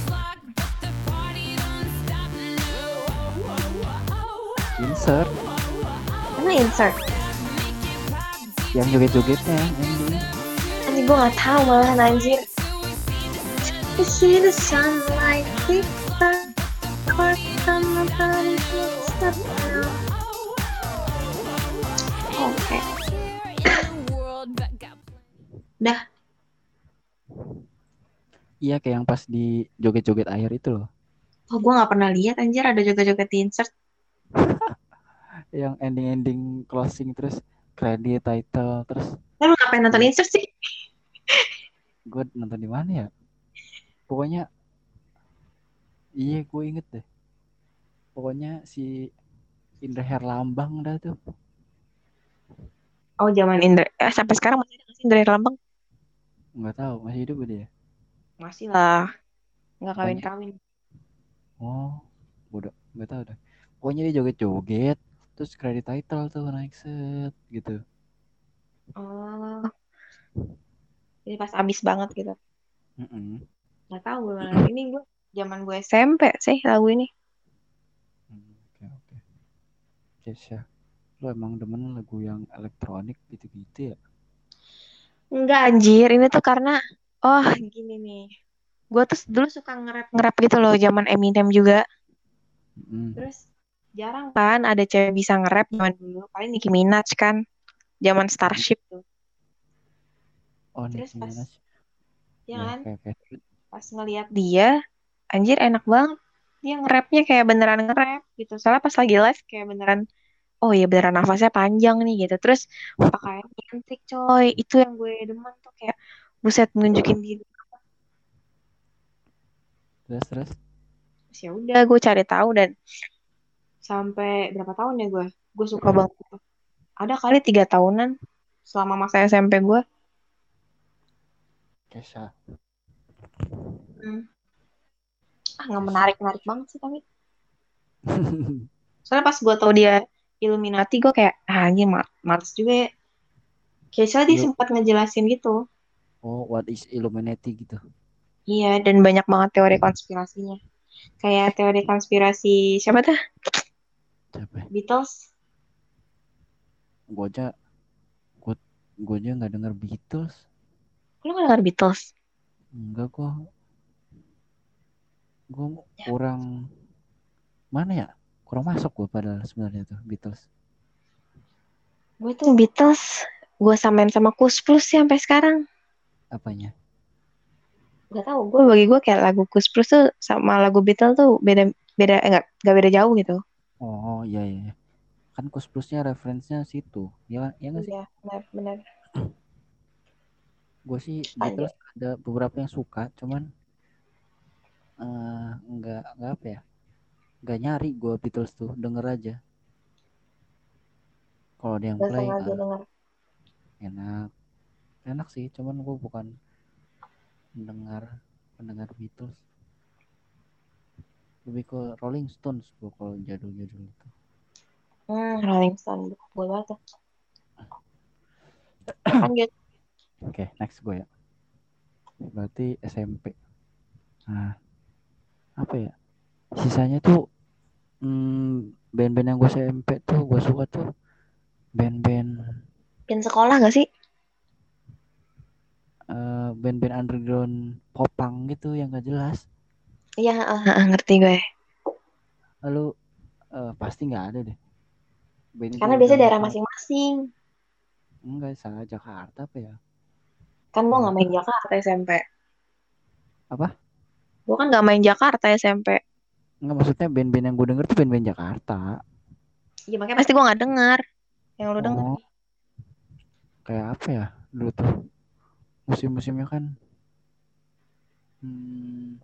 Insert. Mana insert? Yang joget-jogetnya yang ending. Anjir gue gak tahu malahan anjir. You see the sunlight tick tock, court on my body step down. Oke. Dah. Iya kayak yang pas di joget-joget air itu loh. Oh gue gak pernah lihat anjir ada joget-joget di insert. Yang ending-ending closing terus credit title terus Eh, lu ngapain nonton Iya. insert sih? gue nonton di mana ya? Pokoknya iya gue inget deh. Pokoknya si Indra Herlambang dah tuh. Oh zaman Indra. Eh, sampai sekarang masih ada nggak sih Indra Herlambang? Nggak tahu masih hidup dia. Masih lah. Nggak Pokoknya kawin-kawin. oh bodoh nggak tahu dah. Pokoknya dia joget-joget terus credit title tuh naik set gitu. Oh. Jadi pas abis banget gitu. Mm-mm. Nggak tahu benar. Ini gue zaman gue S M P sih lagu ini. Hmm, oke oke. Kesha, lo emang demen lagu yang elektronik gitu-gitu ya? Enggak anjir, ini tuh karena oh gini nih. Gue tuh dulu suka nge-rap-nge-rap gitu loh zaman Eminem juga. Hmm. Terus jarang kan ada cewek bisa nge-rap zaman dulu. Paling Nicki Minaj kan zaman Starship tuh. Oh, Terus Nicki pas Minaj. ya Ya kan, oke oke. pas ngelihat dia, anjir enak banget. Dia nge-rapnya kayak beneran nge-rap gitu. Soalnya pas lagi live kayak beneran, oh iya beneran nafasnya panjang nih gitu. Terus pakaiannya cantik coy. Itu yang gue demen tuh kayak buset nunjukin diri. Terus terus. Terus ya udah gue cari tahu dan sampai berapa tahun ya gue? Gue suka banget. Ada kali tiga tahunan selama masa S M P gue. Kesha. Hmm. Ah nggak Kesha. menarik menarik banget sih tapi. Soalnya pas gue tau dia Illuminati gue kayak ah anjir ma- males juga ya. Kayak soalnya dia Il- sempat ngejelasin gitu. oh, what is Illuminati gitu? Iya dan banyak banget teori konspirasinya. Kayak teori konspirasi siapa tuh? Siapa ya? Beatles. Gue aja, gue, gue aja nggak denger Beatles. Lu nggak denger Beatles? Enggak kok. Gue Ya, kurang mana ya? Kurang masuk gue padahal sebenarnya tuh Beatles. gue tuh Beatles. Gue samain sama Kus Plus sih sampai sekarang. Apanya? Gak tau, gue bagi gue kayak lagu Kus Plus tuh sama lagu Beatles tuh beda beda eh, enggak enggak beda jauh gitu. Oh iya iya. Iya. Kan Kus Plusnya referensinya situ. Ya, ya nggak sih? Iya, benar benar. Gue sih Aja. Beatles ada beberapa yang suka, cuman eh, nggak nggak apa ya? Nggak nyari gue Beatles tuh, denger aja. Kalau ada yang Gak play, sengaja ah, denger. enak, enak sih. Cuman gue bukan mendengar pendengar Beatles. Lebih ke Rolling Stones gue kalau jadul-jadul itu. Hmm, Rolling Stone. Gue banget tuh. Lanjut. Oke, okay, next gue ya. Berarti S M P. Nah, apa ya? Sisanya tuh hmm, band-band yang gue S M P tuh gue suka tuh band-band Pin sekolah gak sih? eh, band-band underground popang gitu yang gak jelas. Iya, ah, ah, ngerti gue. Lalu eh, pasti nggak ada deh. Band itu Karena udah biasanya daerah lama masing-masing. enggak salah Jakarta apa ya? Kan gue Ya gak main Jakarta S M P. apa? Gue kan gak main Jakarta S M P. Enggak maksudnya band-band yang gue denger tuh band-band Jakarta. Iya makanya pasti gue gak denger. Yang lu denger. Oh, kayak apa ya? Dulu tuh musim-musimnya kan hmm,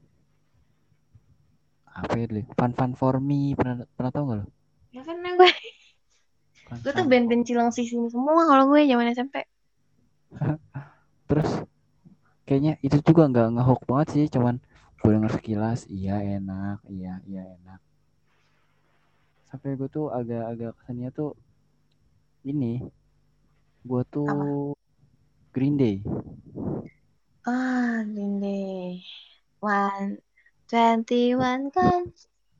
apa ya dulu? Fun Fun For Me pernah pernah tahu nggak lo? Ya kan nah gue. Fun Gue tuh Fun For band-band Cilengsi sini semua kalau gue zaman S M P. Terus kayaknya itu juga nggak ngehook banget sih, cuman gue denger sekilas, iya enak, iya iya enak. Sampai gue tuh agak-agak kesannya tuh ini, gue tuh Apa? Green Day. Ah, Green Day. One, twenty one kan.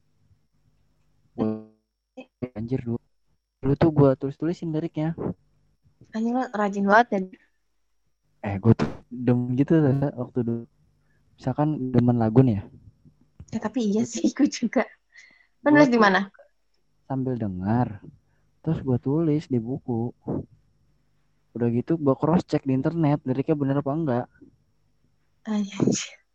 Gue anjir dulu. Dulu tuh gue tulis-tulisin liriknya. Anjing lo rajin banget ya. Eh gue tuh demen gitu lah waktu dulu. Misalkan demen lagu nih ya. Ya tapi iya Gue sih tuh gue juga. Lo gue nulis di tuh mana? sambil dengar. Terus gue tulis di buku. Udah gitu gue cross check di internet liriknya bener apa enggak. Anjing.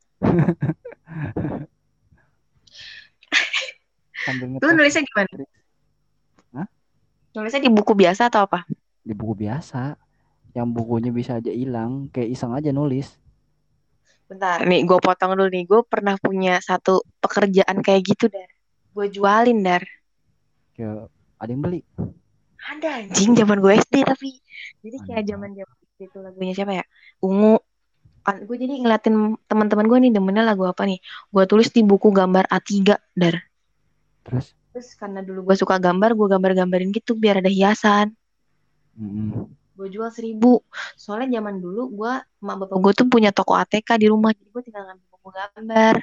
Sambil Lo ngepost nulisnya gimana? lirik. Hah? Nulisnya di buku biasa atau apa? Di buku biasa. Yang bukunya bisa aja hilang. Kayak iseng aja nulis. Bentar, nih gue potong dulu nih. Gue pernah punya satu pekerjaan kayak gitu, Dar. Gue jualin, Dar. Kayak ada yang beli. Ada anjing zaman gue S D tapi. Jadi kayak Aneh zaman banget. zaman itu lagunya siapa ya? Ungu. Kan gue jadi ngeliatin teman-teman gue nih demennya lagu apa nih. Gue tulis di buku gambar A tiga, Dar. Terus Terus karena dulu gue suka gambar, gue gambar-gambarin gitu biar ada hiasan. mm, Gue jual seribu. Soalnya zaman dulu gue, emak bapak gue tuh punya toko A T K di rumah. Jadi gue tinggal ngambil mau gambar.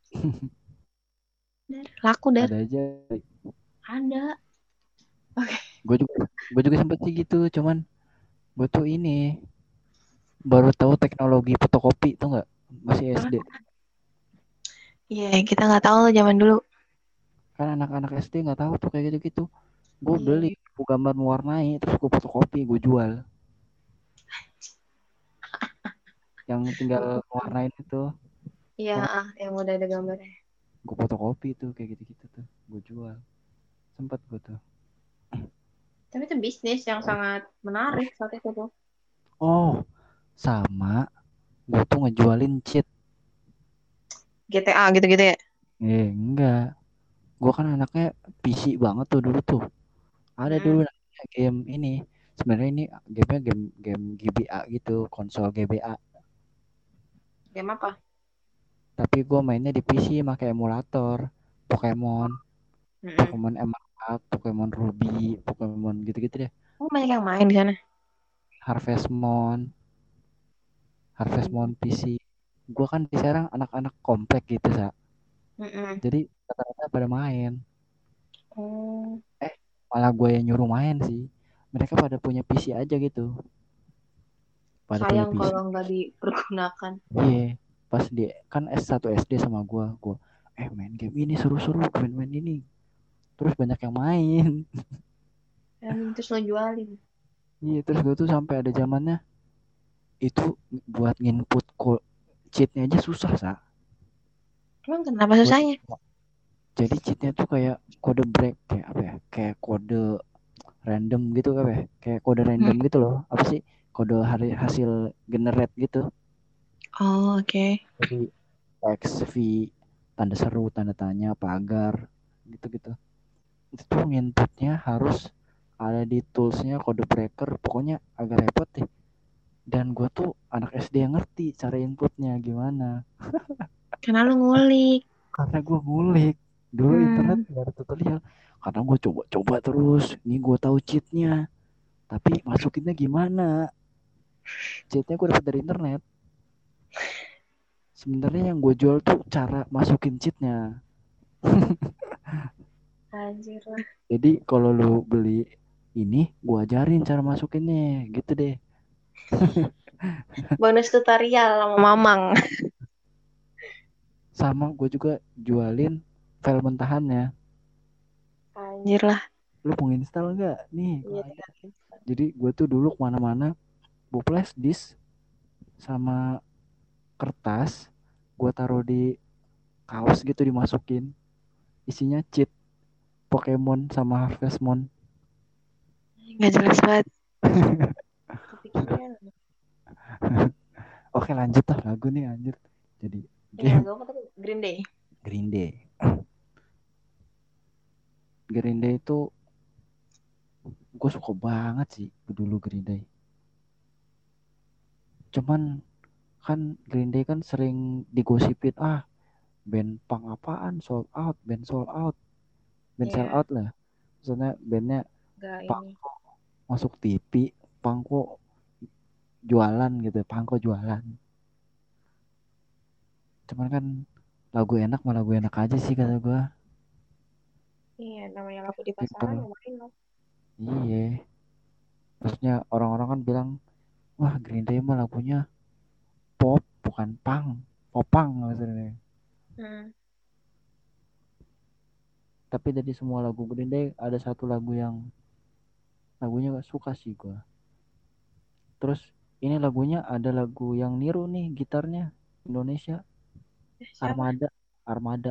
Laku dah. Ada aja. Ada. Oke. Gue juga gue juga sempet sih gitu, cuman gue tuh ini baru tahu teknologi fotokopi tuh nggak, masih S D. Iya, kita nggak tahu loh zaman dulu. Kan anak-anak S D nggak tahu tuh kayak gitu-gitu. Gue Iya. beli buku gambar mewarnai, terus gue fotokopi, gue jual. Yang tinggal mewarnain itu, Iya, ah, yang udah ada gambarnya. gue fotokopi tuh kayak gitu-gitu tuh, gue jual. Sempet gue tuh. Tapi itu bisnis yang sangat menarik saat itu tuh. Oh, sama. Gue tuh ngejualin cheat. G T A gitu-gitu ya. Eh, enggak. Gue kan anaknya P C banget tuh dulu tuh. Ada dulu Mm-mm. namanya game ini. Sebenarnya ini gamenya game game G B A gitu, konsol G B A. Game apa? Tapi gue mainnya di P C pakai emulator. Pokemon, Mm-mm. Pokemon Emerald, Pokemon Ruby, Pokemon gitu-gitu deh. Oh, banyak yang main di sana. Harvest Moon, Harvest Hmm. Moon P C. Gue kan di Serang anak-anak komplek gitu, Sa. Mm-mm. Jadi rata-rata pada main. Oh, Eh, malah gue yang nyuruh main sih. Mereka pada punya P C aja gitu. Pada punya sayang P C. kalau nggak dipergunakan. Iya, pas dia kan S satu S D sama gua, gua eh main game ini seru-seru, main-main ini. Terus banyak yang main. Dan terus lo jualin. Iya, terus gua tuh sampai ada zamannya itu buat nginput ko- cheatnya aja susah, Sa. Emang kenapa Gua tuh susahnya? jadi cheatnya tuh kayak kode break, kayak apa ya? Kayak kode random gitu apa ya? Kayak kode Hmm. random gitu loh. Apa sih? Kode hari hasil generate gitu. Oh, oke. Okay. Jadi X, V, tanda seru, tanda tanya, pagar, gitu-gitu. Itu tuh nginputnya harus ada di toolsnya kode breaker, pokoknya agak repot deh. Dan gue tuh anak S D yang ngerti cara inputnya gimana, Karena lo ngulik. karena gue ngulik dulu internet Hmm. nggak ada tutorial, karena gue coba-coba terus. Ini gue tahu cheatnya, tapi masukinnya gimana? Cheatnya gue dapat dari internet. Sebenarnya yang gue jual tuh cara masukin cheatnya. Anjir lah. Jadi kalau lu beli ini, gue ajarin cara masukinnya, gitu deh. Bonus tutorial sama Mamang. Sama gue juga jualin file mentahannya. Anjir lah. Lu mau install nggak? Nih, gue Iya, ada. tinggal install. Jadi gue tuh dulu kemana-mana, gue flash disk sama kertas, gue taruh di kaos gitu, dimasukin. Isinya cheat Pokemon sama Harvest Moon. Nggak jelas banget. Kepikiran. Oke lanjut lah lagu nih anjir. Jadi Ini game lagu apa tadi? Green Day. Green Day. Green Day itu gue suka banget sih dulu Green Day. Cuman kan Green Day kan sering digosipin, ah band punk apaan, sold out, band sold out, band sell Iya, out lah. Maksudnya bandnya nggak punk ini. kok masuk T V, punk kok jualan gitu, punk kok jualan. Cuman kan lagu enak malah lagu enak aja sih kata gue. Iya, namanya lagu di pasaran Simple. lumayan lah. Iya. Maksudnya orang-orang kan bilang, wah Green Day mah lagunya pop bukan punk, popang maksudnya. Hmm. Tapi dari semua lagu Green Day ada satu lagu yang lagunya gak suka sih gue. Terus ini lagunya ada lagu yang niru nih gitarnya Indonesia, Eh, siapa? Armada, Armada.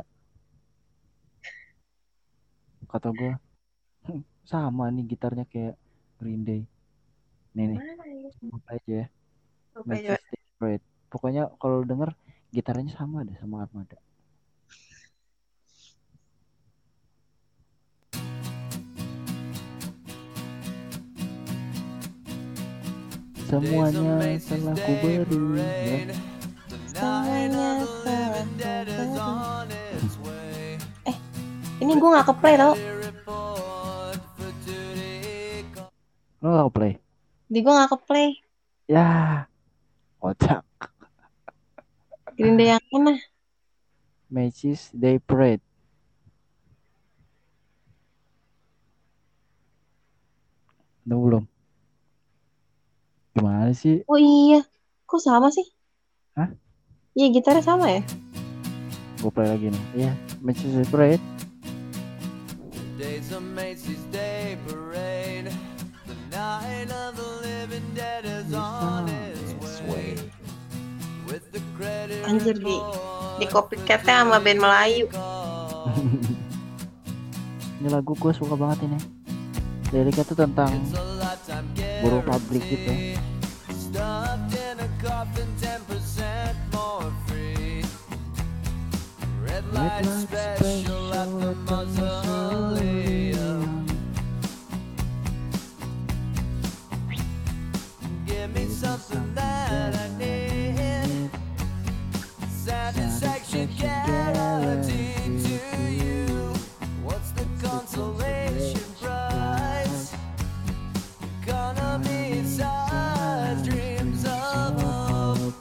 Kata gue sama nih gitarnya kayak Green Day. Nih Yang nih, mana ya? sebut aja ya, Lupa Matches juga. Desperate. Pokoknya kalau denger gitarnya sama deh sama Armada. Semuanya telah ku beri ya. Semuanya telah ku beri. Eh, ini gue nggak ke play tau. Lo gak play? Di gue nggak ke play. Ya, kocak. Green Day yang mana? Macy's Day Parade. Udah belum? Gimana sih? Oh iya, kok sama sih? Hah? Iya, gitarnya sama ya? Gue play lagi nih. Iya, Macy's Day Parade. Days of Macy's Day Parade, the night of the living dead is on its way. With the credit Anjir, di di copycat-nya sama band Melayu. Ini lagu gue suka banget ini. Liriknya tuh tentang buruh pabrik gitu. Stuffed in a coffin, ten percent more free. Red light special at the mausoleum. Give me something that I need. Satisfaction guaranteed to you. What's the consolation prize? Economy inside dreams of hope.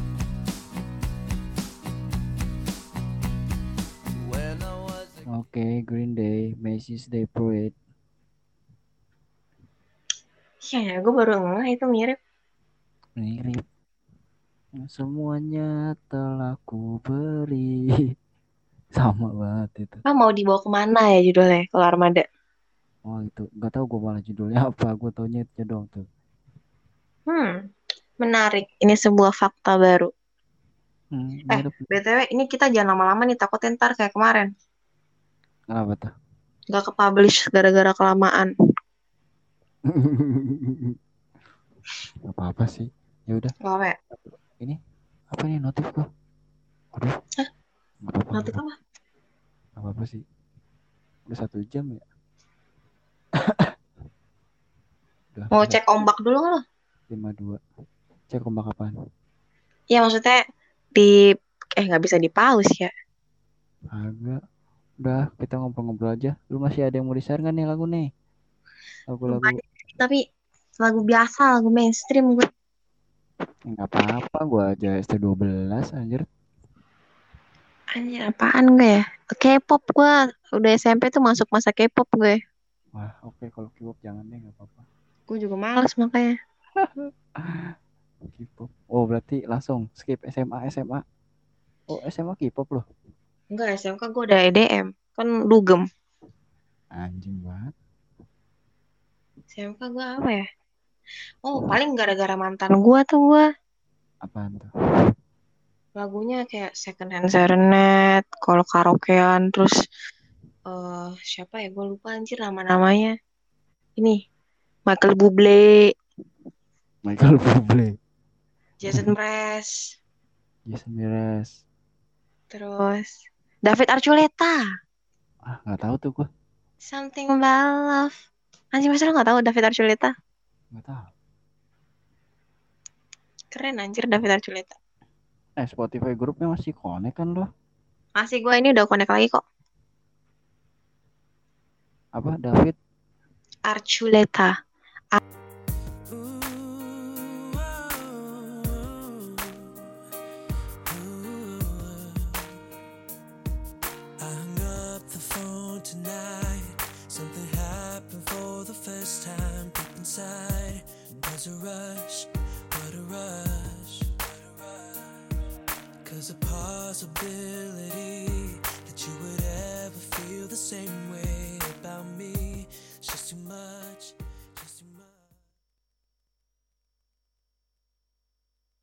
When I was a Oke, Green Day, Macy's Day Parade. Iya ya, gue baru ngeh itu mirip. Mirip. Semuanya telah ku beri. Sama banget itu. Ah, mau dibawa kemana ya judulnya kalau Armada? Oh itu, nggak tahu gue malah judulnya apa. Gue taunya itu dong tuh. Hmm, menarik. Ini sebuah fakta baru. Hmm, Eh, mirip. B T W ini kita jangan lama-lama nih, takutnya ntar kayak kemarin. Kenapa tuh? Gak ke-publish gara-gara kelamaan. Gak apa-apa sih. Ya udah. Gak apa ya? Ini apa nih notif gua? Aduh. Hah? Gak apa-apa. Notif Gak apa? apa-apa sih. Udah satu jam ya. Udah, Mau udah. cek ombak dulu nggak lo? lima dua. Cek ombak apaan? Iya, maksudnya di... Eh, nggak bisa di pause ya. Agak. Udah, kita ngobrol-ngobrol aja. Lu masih ada yang mau di-share gak nih lagu nih? Lagu-lagu. Banyak, tapi lagu biasa, lagu mainstream gue. Gak apa-apa, gue aja S T dua belas anjir. Anjir, apaan gue ya? K-pop gue. Udah S M P tuh masuk masa K-pop gue. Wah, oke okay, kalau K-pop jangan deh, gak apa-apa. Gue juga males makanya. K-pop. Oh, berarti langsung skip S M A S M A. Oh, S M A K-pop loh. Enggak, S M K gue udah E D M. Kan dugem. Anjing banget. S M K gue apa ya? Oh, paling gara-gara mantan gue tuh gue. Apaan tuh? Lagunya kayak Second Hand Serenade, kalau karaokean, terus uh, siapa ya? Gue lupa anjir nama-namanya. Ini, Michael Bublé, Michael Bublé, Jason Mraz, Jason Mraz. terus David Archuletta. Ah, nggak tahu tuh gue. Something About Love. Anjir, masa lo nggak tahu David Archuletta? Nggak tahu. Keren anjir David Archuletta. Eh, Spotify grupnya masih connect kan lo? Masih, gue ini udah connect lagi kok. Apa, David? Archuletta. I hung up the phone tonight. Something happened for the first time deep inside. There's a rush, what a rush. Cause the possibility that you would ever feel the same way about me is just too much.